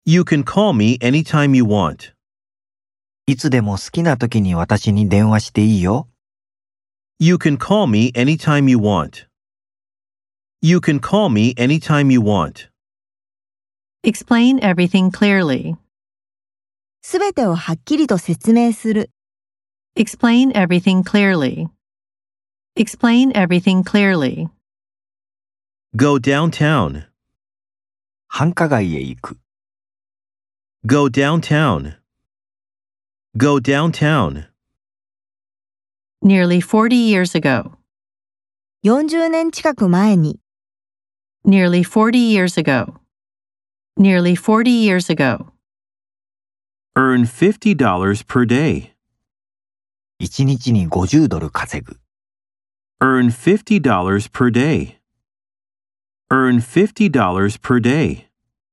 You can call me anytime you want. いつでも好きな時に私に電話していいよ。 You can call me anytime you want. You can call me anytime you want. Explain everything clearly. すべてをはっきりと説明する。 Explain everything clearly. Explain everything clearly. Go downtown. 繁華街へ行く。 Go downtown. Go downtown. Nearly 40 years ago. 40年近く前に。 Nearly 40 years ago. Nearly 40 years ago. Earn $50 per day. 1日に50ドル稼ぐ。 Earn $50 per day. Earn $50 per day.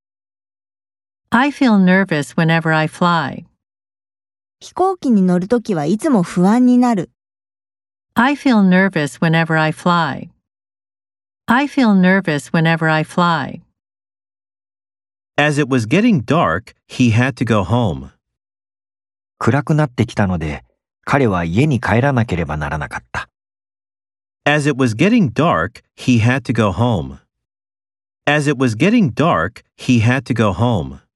I feel nervous whenever I fly. 飛行機に乗るときはいつも不安になる。 I feel nervous whenever I fly. I feel nervous whenever I fly. As it was getting dark, he had to go home. 暗くなってきたので、彼は家に帰らなければならなかった。 As it was getting dark, he had to go home. As it was getting dark, he had to go home.